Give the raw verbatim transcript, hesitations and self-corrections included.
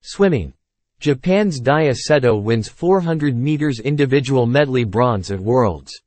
Swimming. Japan's Daiya Seto wins four hundred meters individual medley bronze at Worlds.